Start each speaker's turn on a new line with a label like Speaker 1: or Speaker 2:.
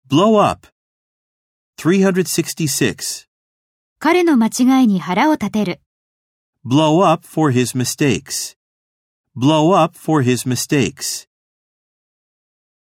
Speaker 1: blow up. 366.
Speaker 2: 彼の間違いに腹を立てる。
Speaker 1: Blow up for his mistakes. Blow up for his mistakes.